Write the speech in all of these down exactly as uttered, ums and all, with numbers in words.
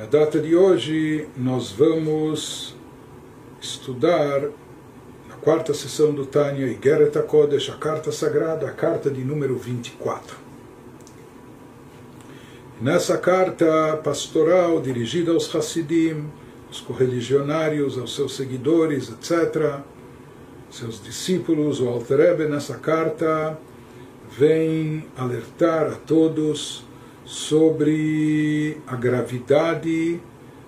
data de hoje nós vamos estudar na quarta sessão do Tânia Igeret HaKodesh, a carta sagrada, a carta de número vinte e quatro. Nessa carta pastoral dirigida aos Hassidim, aos correligionários, aos seus seguidores, etcétera, seus discípulos, o Alter Rebbe nessa carta vem alertar a todos sobre a gravidade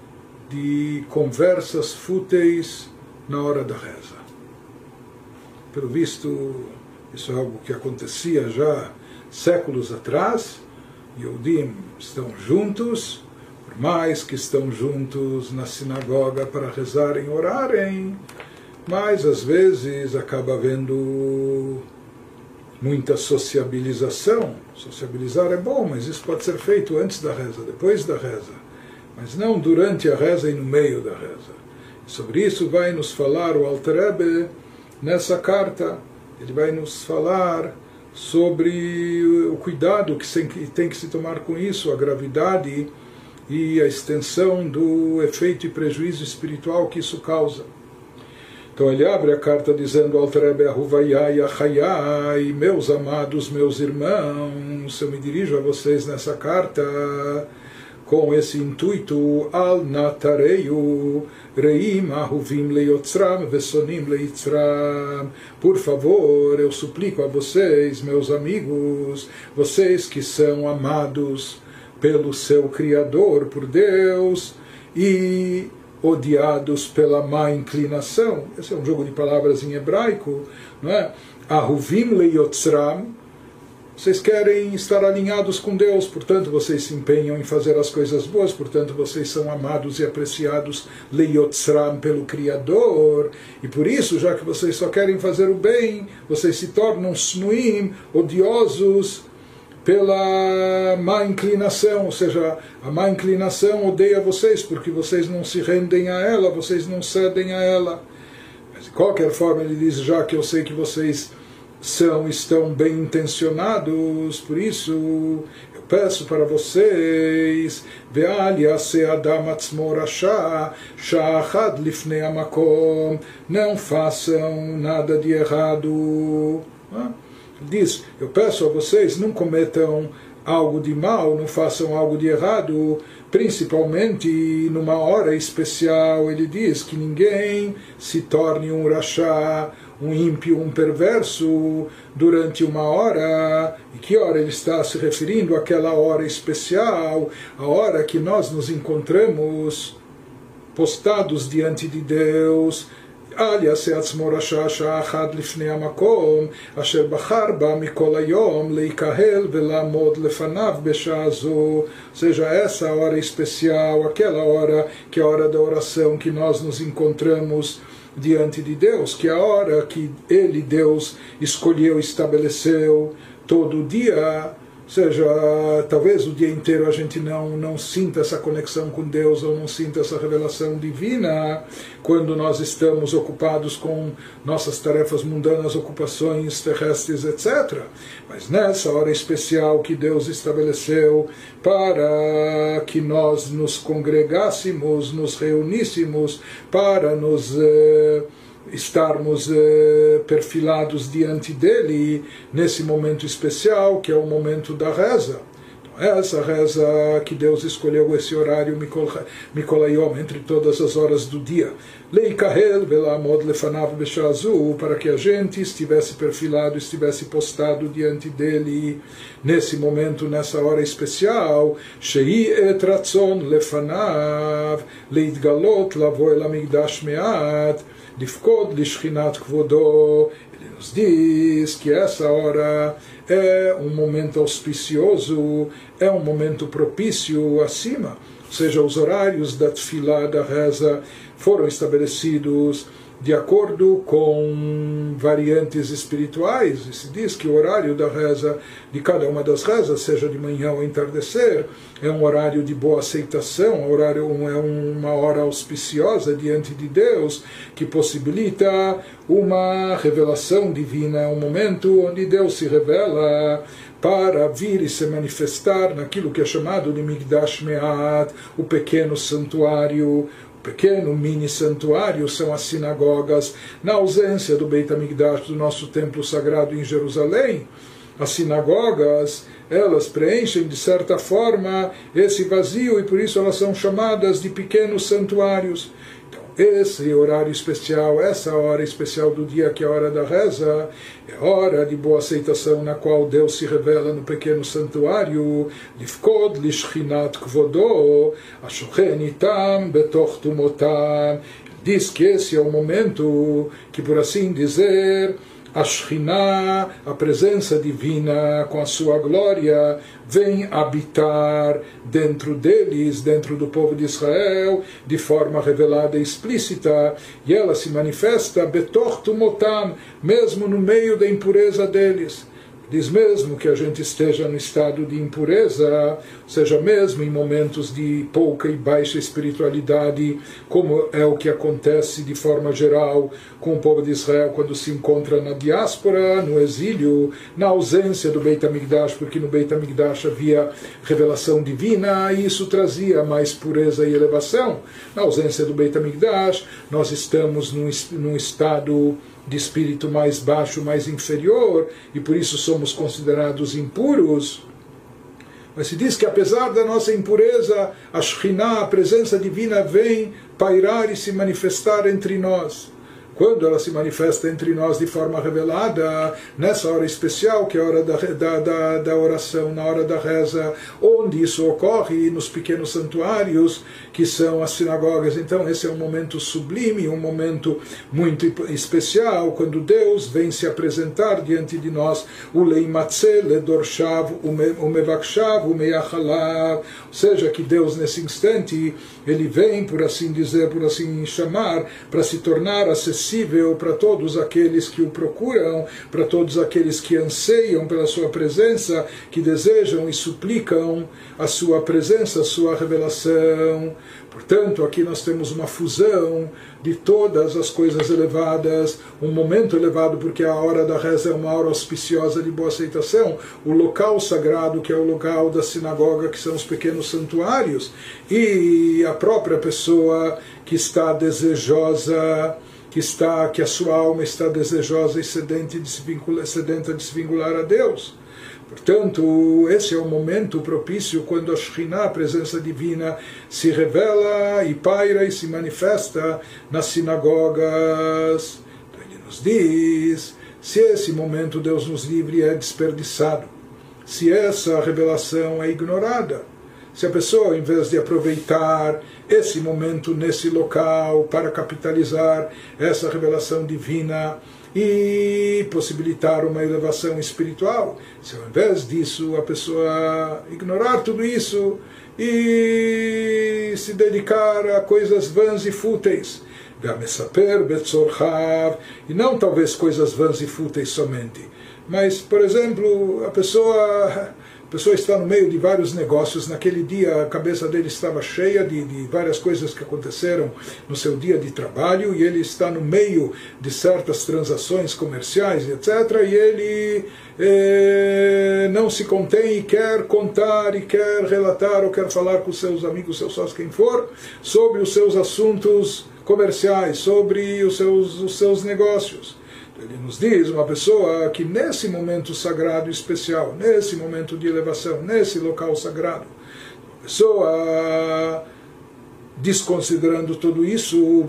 de conversas fúteis na hora da reza. Pelo visto, isso é algo que acontecia já séculos atrás. Yehudim estão juntos, por mais que estão juntos na sinagoga para rezarem e orarem, mas às vezes acaba havendo muita sociabilização. Sociabilizar é bom, mas isso pode ser feito antes da reza, depois da reza, mas não durante a reza e no meio da reza. E sobre isso vai nos falar o Alter Rebbe nessa carta. Ele vai nos falar sobre o cuidado que tem que se tomar com isso, a gravidade e a extensão do efeito e prejuízo espiritual que isso causa. Então ele abre a carta dizendo: Alter Rebbe Ahuvayai Achayai, meus amados, meus irmãos, eu me dirijo a vocês nessa carta com esse intuito: Al natareyu reim ahuvim leyotzram vesonim leitzram. Por favor, eu suplico a vocês, meus amigos, vocês que são amados pelo seu Criador, por Deus, e odiados pela má inclinação. Esse é um jogo de palavras em hebraico, não é? Ahuvim leyotzram. Vocês querem estar alinhados com Deus, portanto vocês se empenham em fazer as coisas boas, portanto vocês são amados e apreciados leyotzram pelo Criador, e por isso, já que vocês só querem fazer o bem, vocês se tornam snuim, odiosos pela má inclinação, ou seja, a má inclinação odeia vocês porque vocês não se rendem a ela, vocês não cedem a ela. Mas de qualquer forma ele diz: já que eu sei que vocês são, estão bem intencionados, por isso eu peço para vocês, não façam nada de errado. Diz: eu peço a vocês, não cometam algo de mal, não façam algo de errado, principalmente numa hora especial. Ele diz que ninguém se torne um rachá, um ímpio, um perverso, durante uma hora. E que hora ele está se referindo? Àquela hora especial, a hora que nós nos encontramos postados diante de Deus. Ou seja, essa hora especial, aquela hora que é a hora da oração, que nós nos encontramos diante de Deus, que é a hora que Ele, Deus, escolheu, estabeleceu todo dia. Ou seja, talvez o dia inteiro a gente não, não sinta essa conexão com Deus, ou não sinta essa revelação divina, quando nós estamos ocupados com nossas tarefas mundanas, ocupações terrestres, etcétera. Mas nessa hora especial que Deus estabeleceu para que nós nos congregássemos, nos reuníssemos, para nos Eh, estarmos eh, perfilados diante dele nesse momento especial, que é o momento da reza. Então, essa reza que Deus escolheu, esse horário Mikolayom, entre todas as horas do dia, Leikahel velamod lefanav beshazu, para que a gente estivesse perfilado, estivesse postado diante dele nesse momento, nessa hora especial. Shei et ratzon lefanav leitgalot lavo el amigdash meat Lifkod lishchinat kvodo. Ele nos diz que essa hora é um momento auspicioso, é um momento propício acima. Ou seja, os horários da tefilá, da reza, foram estabelecidos de acordo com variantes espirituais. E se diz que o horário da reza, de cada uma das rezas, seja de manhã ou entardecer, é um horário de boa aceitação, horário, é uma hora auspiciosa diante de Deus, que possibilita uma revelação divina, um momento onde Deus se revela para vir e se manifestar naquilo que é chamado de Migdash Me'at, o pequeno santuário. Pequeno mini santuário são as sinagogas. Na ausência do Beit HaMikdash, do nosso templo sagrado em Jerusalém, as sinagogas, elas preenchem de certa forma esse vazio e por isso elas são chamadas de pequenos santuários. Então, esse horário especial, essa hora especial do dia, que é a hora da reza, é hora de boa aceitação na qual Deus se revela no pequeno santuário, Lifkod lishchinat kvodo, ashochen itam betoch tumotam. Diz que esse é o momento que, por assim dizer, a Shekhinah, a presença divina com a sua glória, vem habitar dentro deles, dentro do povo de Israel, de forma revelada e explícita, e ela se manifesta betoch tumotam, mesmo no meio da impureza deles. Diz mesmo que a gente esteja no estado de impureza, ou seja, mesmo em momentos de pouca e baixa espiritualidade, como é o que acontece de forma geral com o povo de Israel quando se encontra na diáspora, no exílio, na ausência do Beit HaMikdash, porque no Beit HaMikdash havia revelação divina e isso trazia mais pureza e elevação. Na ausência do Beit HaMikdash, nós estamos num, num estado de espírito mais baixo, mais inferior, e por isso somos considerados impuros. Mas se diz que apesar da nossa impureza, a Shekhinah, a presença divina, vem pairar e se manifestar entre nós. Quando ela se manifesta entre nós de forma revelada, nessa hora especial, que é a hora da, da, da, da oração, na hora da reza, onde isso ocorre, nos pequenos santuários, que são as sinagogas. Então esse é um momento sublime, um momento muito especial, quando Deus vem se apresentar diante de nós, o leimatze, ledorshav, o mevakshav, o meyachalav, ou seja, que Deus nesse instante, ele vem, por assim dizer, por assim chamar, para se tornar acessível para todos aqueles que o procuram, para todos aqueles que anseiam pela sua presença, que desejam e suplicam a sua presença, a sua revelação. Portanto, aqui nós temos uma fusão de todas as coisas elevadas, um momento elevado, porque a hora da reza é uma hora auspiciosa de boa aceitação, o local sagrado, que é o local da sinagoga, que são os pequenos santuários, e a própria pessoa que está desejosa, que, está, que a sua alma está desejosa e sedenta de se vincular, sedenta de se vincular a Deus. Portanto, esse é o momento propício quando a Shekhinah, a presença divina, se revela e paira e se manifesta nas sinagogas. Então ele nos diz, se esse momento, Deus nos livre, é desperdiçado, se essa revelação é ignorada, se a pessoa, em vez de aproveitar esse momento nesse local para capitalizar essa revelação divina e possibilitar uma elevação espiritual, se ao invés disso a pessoa ignorar tudo isso e se dedicar a coisas vãs e fúteis, e não talvez coisas vãs e fúteis somente, mas, por exemplo, a pessoa... A pessoa está no meio de vários negócios, naquele dia a cabeça dele estava cheia de, de várias coisas que aconteceram no seu dia de trabalho, e ele está no meio de certas transações comerciais, etcétera, e ele eh, não se contém e quer contar, e quer relatar, ou quer falar com seus amigos, seus sócios, quem for, sobre os seus assuntos comerciais, sobre os seus, os seus negócios. Ele nos diz, uma pessoa que nesse momento sagrado e especial, nesse momento de elevação, nesse local sagrado, uma pessoa desconsiderando tudo isso,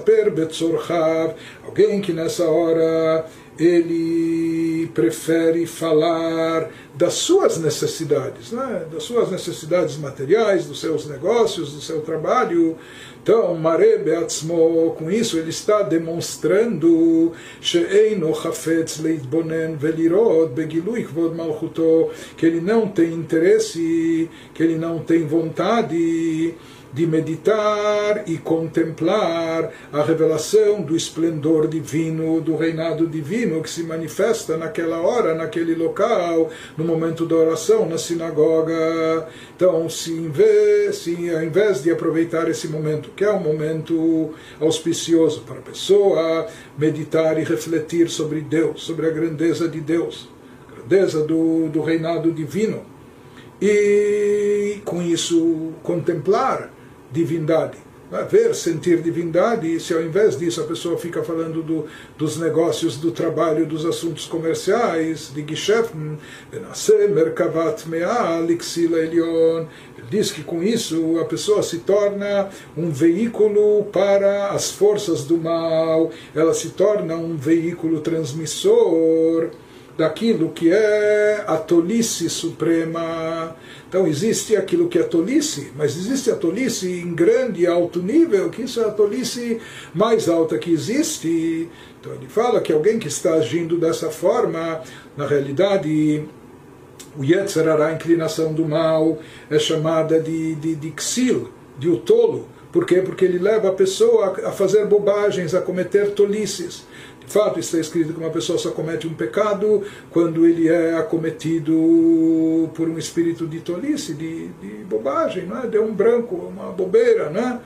alguém que nessa hora ele prefere falar das suas necessidades, né? Das suas necessidades materiais, dos seus negócios, do seu trabalho. Então, Mare Beatzmo, com isso ele está demonstrando she'eino chafetz leitbonen velirot begilui kvod malchuto, que ele não tem interesse, que ele não tem vontade de meditar e contemplar a revelação do esplendor divino, do reinado divino que se manifesta naquela hora, naquele local, no momento da oração, na sinagoga. Então, se, em vez, se ao invés de aproveitar esse momento, que é um momento auspicioso para a pessoa meditar e refletir sobre Deus, sobre a grandeza de Deus, a grandeza do, do reinado divino, e com isso contemplar divindade, ver, sentir divindade, e se ao invés disso a pessoa fica falando do, dos negócios, do trabalho, dos assuntos comerciais, de Geschäften, Merkavat Mea Lixila Elion, ele diz que com isso a pessoa se torna um veículo para as forças do mal, ela se torna um veículo transmissor daquilo que é a tolice suprema. Então existe aquilo que é tolice, mas existe a tolice em grande e alto nível, que isso é a tolice mais alta que existe. Então ele fala que alguém que está agindo dessa forma, na realidade, o Yetzer Hara, a inclinação do mal, é chamada de, de, de Ksil, de o tolo. Por quê? Porque ele leva a pessoa a fazer bobagens, a cometer tolices. De fato, está escrito que uma pessoa só comete um pecado quando ele é acometido por um espírito de tolice, de, de bobagem, não é? Deu um branco, uma bobeira, né?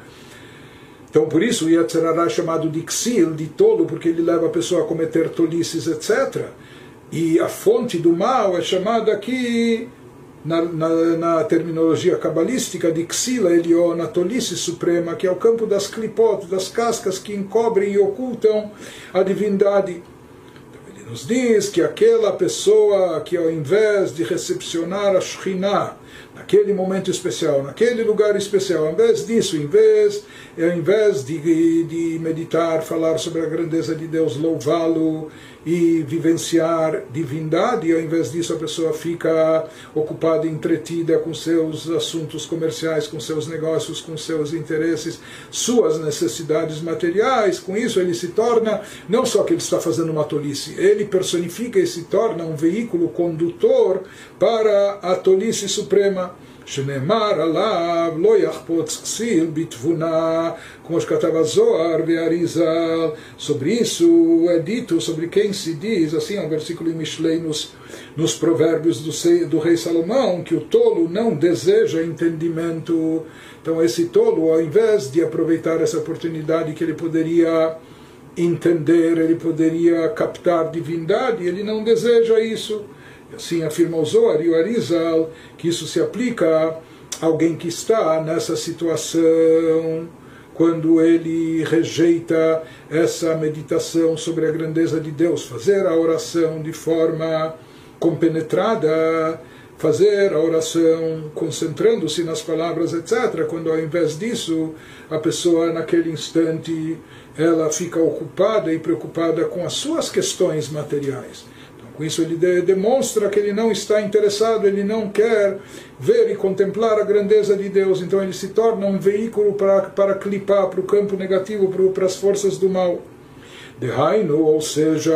Então, por isso, o Yetzer Hara é chamado de Ksil, de tolo, porque ele leva a pessoa a cometer tolices, etcétera. E a fonte do mal é chamada aqui, na, na, na terminologia cabalística, de Ksila Elion, a tolice suprema, que é o campo das clipot, das cascas que encobrem e ocultam a divindade. Então ele nos diz que aquela pessoa que ao invés de recepcionar a Shekhinah, naquele momento especial, naquele lugar especial, ao invés disso, em vez, ao invés de, de meditar, falar sobre a grandeza de Deus, louvá-lo e vivenciar divindade, ao invés disso a pessoa fica ocupada e entretida com seus assuntos comerciais, com seus negócios, com seus interesses, suas necessidades materiais. Com isso ele se torna, não só que ele está fazendo uma tolice, ele personifica e se torna um veículo condutor para a tolice suprema. שנאמר עליו לא יחפוץ כסיל בתבונה, como שכתב הזוהר והאריזל. Sobre isso é dito, sobre quem se diz, assim é um versículo em Mishlei, nos, nos provérbios do, do rei Salomão, que o tolo não deseja entendimento. Então esse tolo, ao invés de aproveitar essa oportunidade que ele poderia entender, ele poderia captar divindade, ele não deseja isso. Assim afirma o Zohar e o Arizal, que isso se aplica a alguém que está nessa situação, quando ele rejeita essa meditação sobre a grandeza de Deus, fazer a oração de forma compenetrada, fazer a oração concentrando-se nas palavras, etcétera, quando ao invés disso, a pessoa naquele instante, ela fica ocupada e preocupada com as suas questões materiais. Com isso ele de, demonstra que ele não está interessado, ele não quer ver e contemplar a grandeza de Deus. Então ele se torna um veículo para, para clipar para o campo negativo, para, para as forças do mal. Dehainu, ou seja,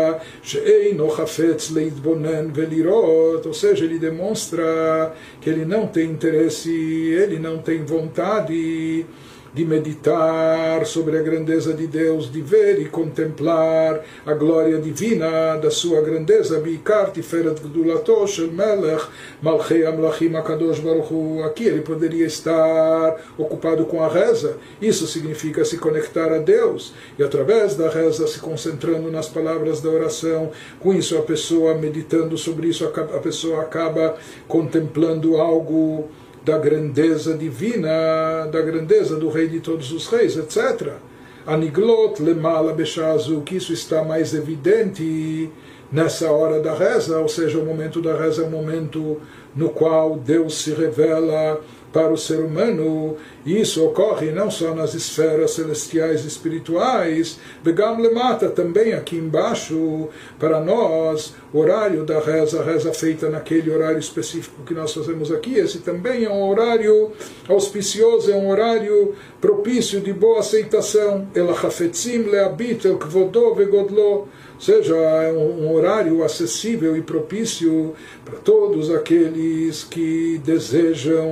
she'eino chafetz leitbonen velirot, ou seja, ele demonstra que ele não tem interesse, ele não tem vontade de meditar sobre a grandeza de Deus, de ver e contemplar a glória divina da sua grandeza. Bikar tiferet gdulato shel melech malchei amlachim akadosh baruch hu. Aqui ele poderia estar ocupado com a reza. Isso significa se conectar a Deus, e através da reza se concentrando nas palavras da oração. Com isso a pessoa meditando sobre isso, a pessoa acaba contemplando algo da grandeza divina, da grandeza do Rei de todos os reis, etcétera. Aniglot lemala beshazu, que isso está mais evidente nessa hora da reza, ou seja, o momento da reza é o momento no qual Deus se revela para o ser humano, e isso ocorre não só nas esferas celestiais e espirituais, begam lemata, também aqui embaixo, para nós, o horário da reza, a reza feita naquele horário específico que nós fazemos aqui, esse também é um horário auspicioso, é um horário propício de boa aceitação. Ela chafetzim leabit el kvodo vegodlo, ou seja, é um horário acessível e propício para todos aqueles que desejam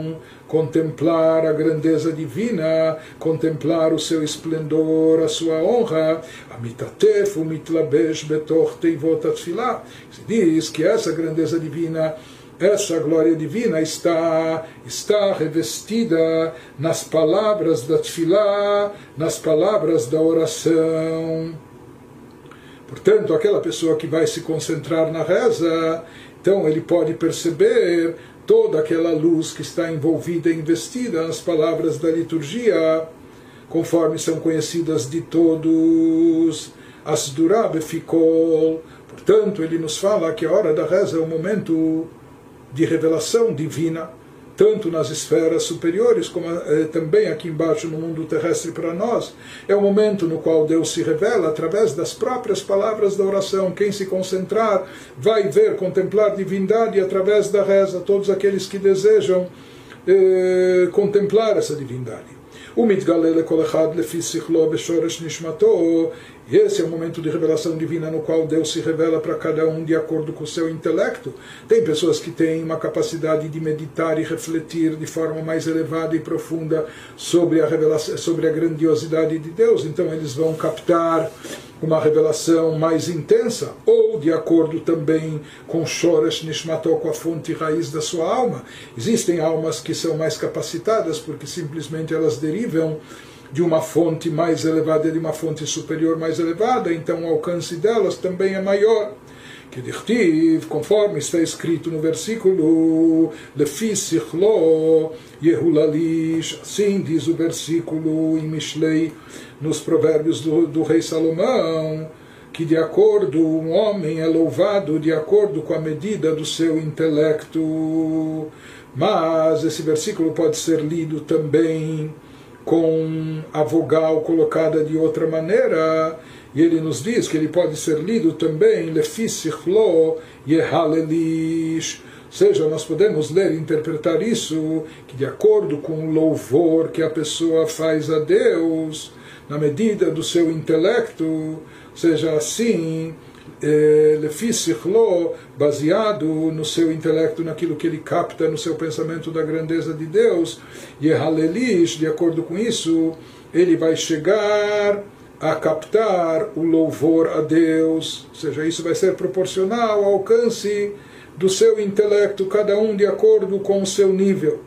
contemplar a grandeza divina, contemplar o seu esplendor, a sua honra. Amitatef umitlabesh betoch teivot atfilah. Se diz que essa grandeza divina, essa glória divina está, está revestida nas palavras da tefilá, nas palavras da oração. Portanto, aquela pessoa que vai se concentrar na reza, então ele pode perceber toda aquela luz que está envolvida e investida nas palavras da liturgia, conforme são conhecidas de todos, as Durah Befikol. Portanto, ele nos fala que a hora da reza é um momento de revelação divina, tanto nas esferas superiores, como eh, também aqui embaixo no mundo terrestre para nós. É o momento no qual Deus se revela através das próprias palavras da oração. Quem se concentrar vai ver, contemplar divindade através da reza, todos aqueles que desejam eh, contemplar essa divindade. E esse é o momento de revelação divina no qual Deus se revela para cada um de acordo com o seu intelecto. Tem pessoas que têm uma capacidade de meditar e refletir de forma mais elevada e profunda sobre a revelação, sobre a grandiosidade de Deus, então eles vão captar uma revelação mais intensa, ou de acordo também com Shoresh Nishmato, com a fonte raiz da sua alma. Existem almas que são mais capacitadas porque simplesmente elas derivam de uma fonte mais elevada, de uma fonte superior mais elevada, então o alcance delas também é maior. Que dirtiv, conforme está escrito no versículo Lefi Sichlo Yehulalish, assim diz o versículo em Mishlei, nos provérbios do, do rei Salomão, que de acordo, um homem é louvado de acordo com a medida do seu intelecto. Mas esse versículo pode ser lido também com a vogal colocada de outra maneira, e ele nos diz que ele pode ser lido também Lefi Sichlo Yehalelish. Ou seja, nós podemos ler e interpretar isso que de acordo com o louvor que a pessoa faz a Deus, na medida do seu intelecto, ou seja, assim, Lefi Sichlo, baseado no seu intelecto, naquilo que ele capta no seu pensamento da grandeza de Deus, Yehalelish, de acordo com isso, ele vai chegar a captar o louvor a Deus, ou seja, isso vai ser proporcional ao alcance do seu intelecto, cada um de acordo com o seu nível.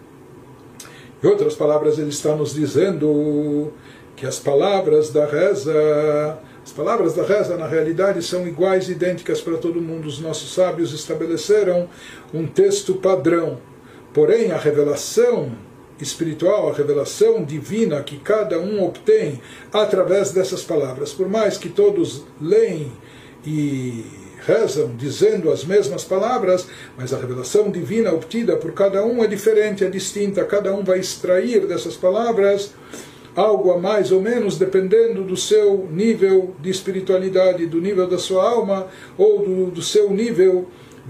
Em outras palavras, ele está nos dizendo que as palavras da reza, as palavras da reza na realidade são iguais, idênticas para todo mundo. Os nossos sábios estabeleceram um texto padrão, porém a revelação espiritual, a revelação divina que cada um obtém através dessas palavras, por mais que todos leem e rezam dizendo as mesmas palavras, mas a revelação divina obtida por cada um é diferente, é distinta. Cada um vai extrair dessas palavras algo a mais ou menos, dependendo do seu nível de espiritualidade, do nível da sua alma, ou do, do seu nível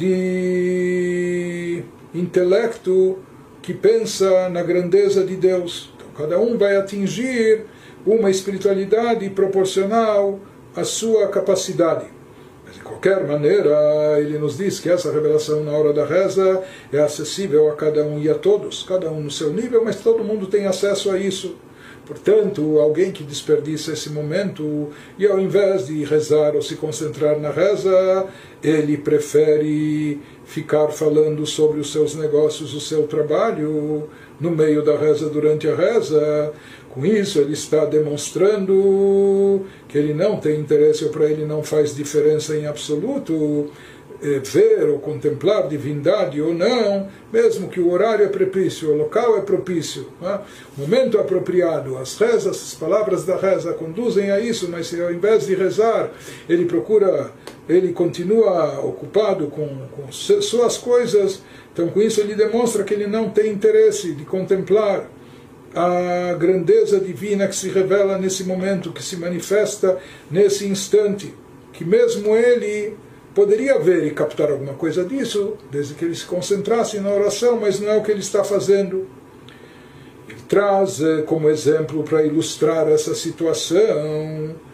de intelecto que pensa na grandeza de Deus. Então, cada um vai atingir uma espiritualidade proporcional à sua capacidade. Mas, de qualquer maneira, ele nos diz que essa revelação na hora da reza é acessível a cada um e a todos, cada um no seu nível, mas todo mundo tem acesso a isso. Portanto, alguém que desperdiça esse momento e ao invés de rezar ou se concentrar na reza, ele prefere ficar falando sobre os seus negócios, o seu trabalho, no meio da reza, durante a reza. Com isso, ele está demonstrando que ele não tem interesse, ou para ele não faz diferença em absoluto ver ou contemplar divindade ou não, mesmo que o horário é propício, o local é propício, né? O momento é apropriado, as rezas, as palavras da reza conduzem a isso, mas se ao invés de rezar, ele procura, ele continua ocupado com, com suas coisas, então com isso ele demonstra que ele não tem interesse de contemplar a grandeza divina que se revela nesse momento, que se manifesta nesse instante, que mesmo ele poderia ver e captar alguma coisa disso, desde que ele se concentrasse na oração, mas não é o que ele está fazendo. Ele traz como exemplo, para ilustrar essa situação,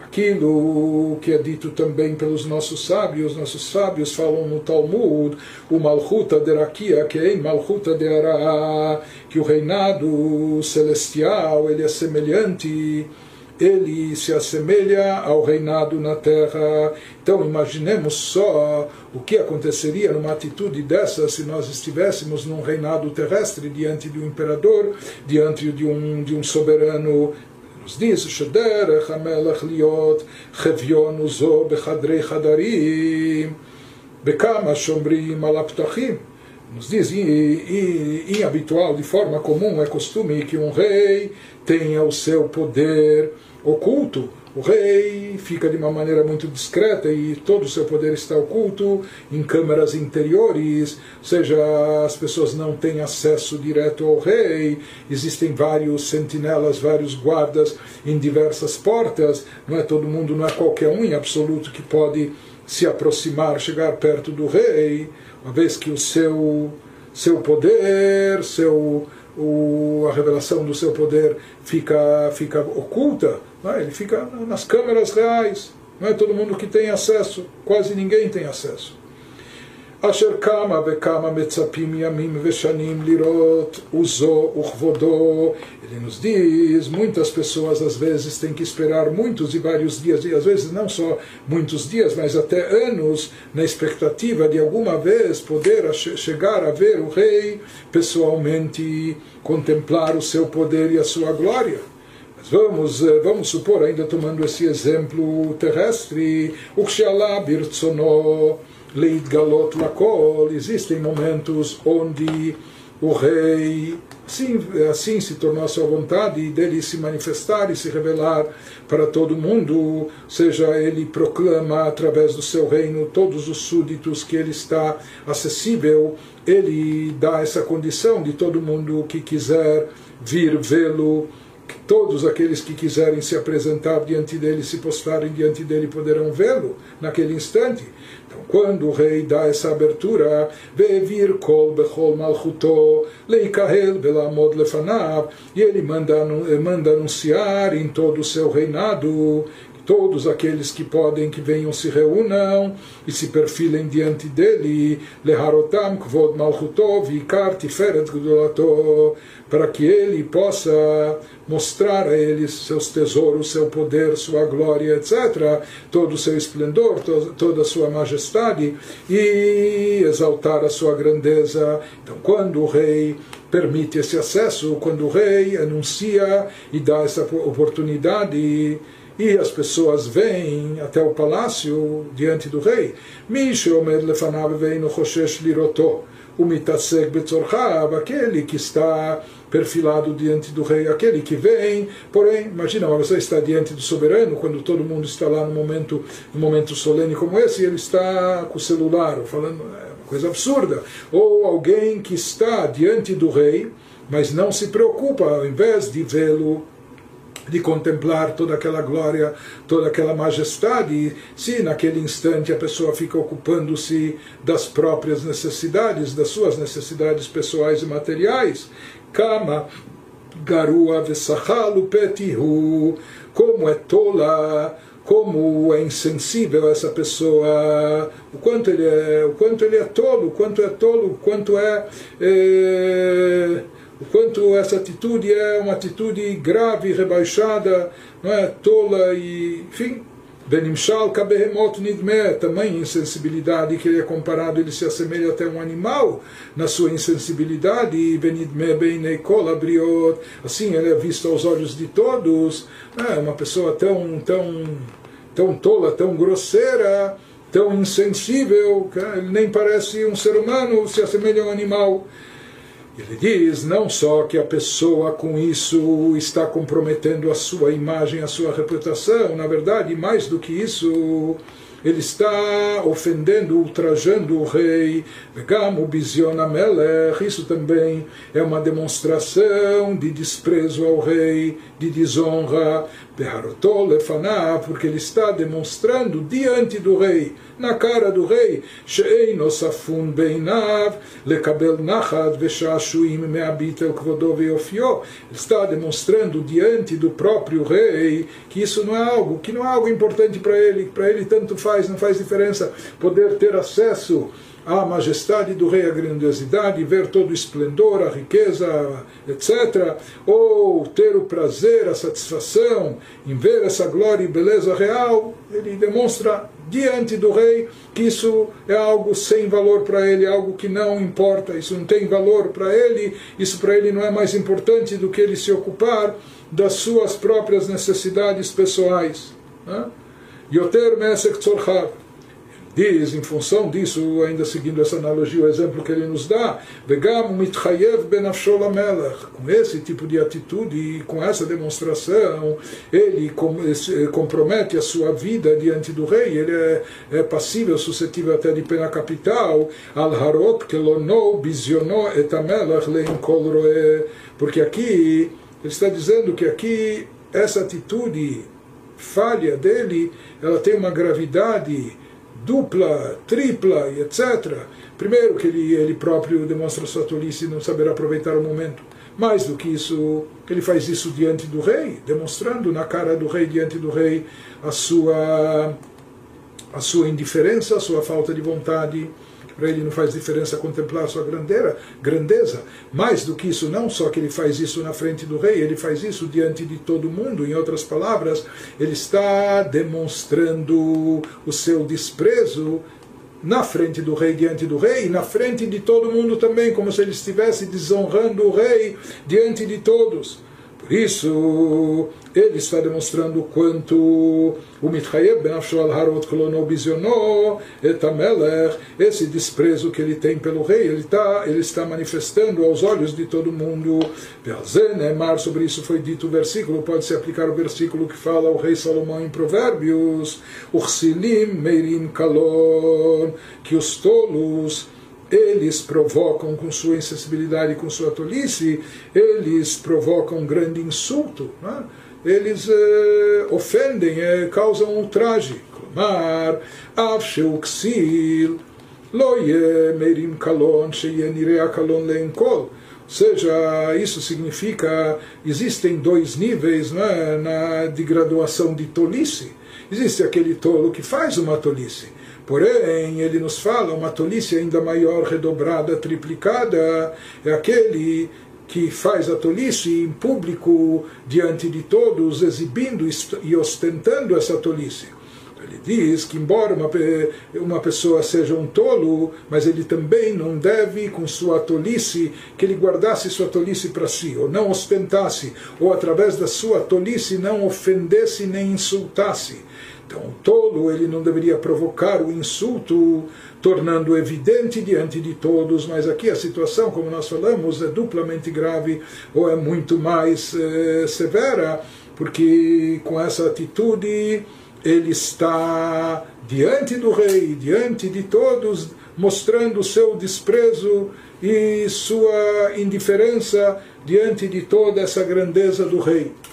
aquilo que é dito também pelos nossos sábios. Nossos sábios falam no Talmud, o Malchuta de Rakia, que é Malchuta de Ara, que o reinado celestial ele é semelhante, ele se assemelha ao reinado na terra. Então imaginemos só o que aconteceria numa atitude dessa se nós estivéssemos num reinado terrestre diante de um imperador, diante de um, de um soberano. Nos diz Shederech HaMelech liot chevion uzo bechadrei chadarim bekama shomrim al aptachim. Nos diz, em habitual, de forma comum, é costume que um rei tenha o seu poder oculto. O rei fica de uma maneira muito discreta e todo o seu poder está oculto em câmaras interiores, ou seja, as pessoas não têm acesso direto ao rei, existem vários sentinelas, vários guardas em diversas portas, não é todo mundo, não é qualquer um em absoluto que pode se aproximar, chegar perto do rei, uma vez que o seu, seu poder, seu, o, a revelação do seu poder fica, fica oculta, não é? Ele fica nas câmeras reais, não é todo mundo que tem acesso, quase ninguém tem acesso. Asher kama bekama metzapim yamim veshanim lirot uzo uchvodo. Ele nos diz, muitas pessoas às vezes têm que esperar muitos e vários dias, e às vezes não só muitos dias, mas até anos, na expectativa de alguma vez poder chegar a ver o rei pessoalmente, contemplar o seu poder e a sua glória. Mas vamos, vamos supor, ainda tomando esse exemplo terrestre, o Kshalá birtsono leitgalot lakol, existem momentos onde o rei assim, assim se tornou a sua vontade dele se manifestar e se revelar para todo mundo, ou seja, ele proclama através do seu reino todos os súditos que ele está acessível, ele dá essa condição de todo mundo que quiser vir vê-lo, todos aqueles que quiserem se apresentar diante dele, se postarem diante dele, poderão vê-lo naquele instante. Então, quando o rei dá essa abertura, Ve'evir kol bechol malchuto leikahel belamod lefanav, e ele manda, manda anunciar em todo o seu reinado, todos aqueles que podem, que venham, se reúnam e se perfilem diante dele, leharotam kvod malchuto vikar tiferet gdolato, para que ele possa mostrar a eles seus tesouros, seu poder, sua glória, etcétera, todo o seu esplendor, to toda a sua majestade, e exaltar a sua grandeza. Então, quando o rei permite esse acesso, quando o rei anuncia e dá essa oportunidade, e as pessoas vêm até o palácio diante do rei, aquele que está perfilado diante do rei, aquele que vem, porém, imagina, você está diante do soberano, quando todo mundo está lá no momento, no momento solene como esse, e ele está com o celular, falando, é uma coisa absurda, ou alguém que está diante do rei, mas não se preocupa, ao invés de vê-lo, de contemplar toda aquela glória, toda aquela majestade, se naquele instante a pessoa fica ocupando-se das próprias necessidades, das suas necessidades pessoais e materiais, Kama garua vesachalu petihu, como é tola, como é insensível essa pessoa, o quanto ele é, o quanto ele é tolo, o quanto é tolo, o quanto é, é o quanto essa atitude é uma atitude grave, rebaixada, não é, tola e, enfim, benimshal kabehemot nidme, tamanha insensibilidade que ele é comparado, ele se assemelha até a um animal na sua insensibilidade, benidme beinei kol abriot, assim ele é visto aos olhos de todos, é uma pessoa tão, tão, tão tola, tão grosseira, tão insensível, ele nem parece um ser humano, se assemelha a um animal. Ele diz não só que a pessoa com isso está comprometendo a sua imagem, a sua reputação, na verdade, mais do que isso, ele está ofendendo, ultrajando o rei. Vegam ubizion hamelech, isso também é uma demonstração de desprezo ao rei, de desonra. Beharotol lefanav, porque ele está demonstrando diante do rei, na cara do rei, she'eino safun beinav lekabel nachad veshashuim me'abit el kvodo ve'ofio. Ele está demonstrando diante do próprio rei que isso não é algo, que não é algo importante para ele, para ele tanto faz, não faz diferença poder ter acesso à majestade do rei, a grandiosidade, ver todo o esplendor, a riqueza, etcétera, ou ter o prazer, a satisfação em ver essa glória e beleza real. Ele demonstra diante do rei que isso é algo sem valor para ele, algo que não importa, isso não tem valor para ele, isso para ele não é mais importante do que ele se ocupar das suas próprias necessidades pessoais. Yoter mesek tzorchav. Diz, em função disso, ainda seguindo essa analogia, o exemplo que ele nos dá, Vegam mitchayev benafsho lamelech. Com esse tipo de atitude e com essa demonstração, ele compromete a sua vida diante do rei, ele é, é passível, suscetível até de pena capital, al harot kelono biziono et hamelech leim kol roe. Porque aqui, ele está dizendo que aqui, essa atitude falha dele, ela tem uma gravidade dupla, tripla e etcétera. Primeiro, que ele, ele próprio demonstra sua tolice e não saber aproveitar o momento. Mais do que isso, ele faz isso diante do rei, demonstrando na cara do rei, diante do rei, a sua, a sua indiferença, a sua falta de vontade. Para ele não faz diferença contemplar a sua grandeira, grandeza. Mais do que isso, não só que ele faz isso na frente do rei, ele faz isso diante de todo mundo. Em outras palavras, ele está demonstrando o seu desprezo na frente do rei, diante do rei, e na frente de todo mundo também, como se ele estivesse desonrando o rei diante de todos. Por isso, ele está demonstrando o quanto o mitchayev benafsho al harot kolono biziono et hamelech, esse desprezo que ele tem pelo rei, ele está, ele está manifestando aos olhos de todo mundo. Ve'alzenemar, sobre isso foi dito o versículo, pode-se aplicar o versículo que fala o rei Salomão em Provérbios, Uchsilim meirim kalon, que os tolos eles provocam com sua insensibilidade, com sua tolice, eles provocam um grande insulto, né? Eles eh, ofendem, eh, causam ultraje. Klamar, av sheuksil, lo ye meirim kalon, sheye nirea kalon leenkol. Ou seja, isso significa, existem dois níveis, né, na, de graduação de tolice. Existe aquele tolo que faz uma tolice. Porém, ele nos fala, uma tolice ainda maior, redobrada, triplicada, é aquele que faz a tolice em público, diante de todos, exibindo e ostentando essa tolice. Ele diz que, embora uma, uma pessoa seja um tolo, mas ele também não deve, com sua tolice, que ele guardasse sua tolice para si, ou não ostentasse, ou através da sua tolice não ofendesse nem insultasse. Então, o tolo, ele não deveria provocar o insulto, tornando evidente diante de todos, mas aqui a situação, como nós falamos, é duplamente grave, ou é muito mais eh, severa, porque com essa atitude ele está diante do rei, diante de todos, mostrando seu desprezo e sua indiferença diante de toda essa grandeza do rei.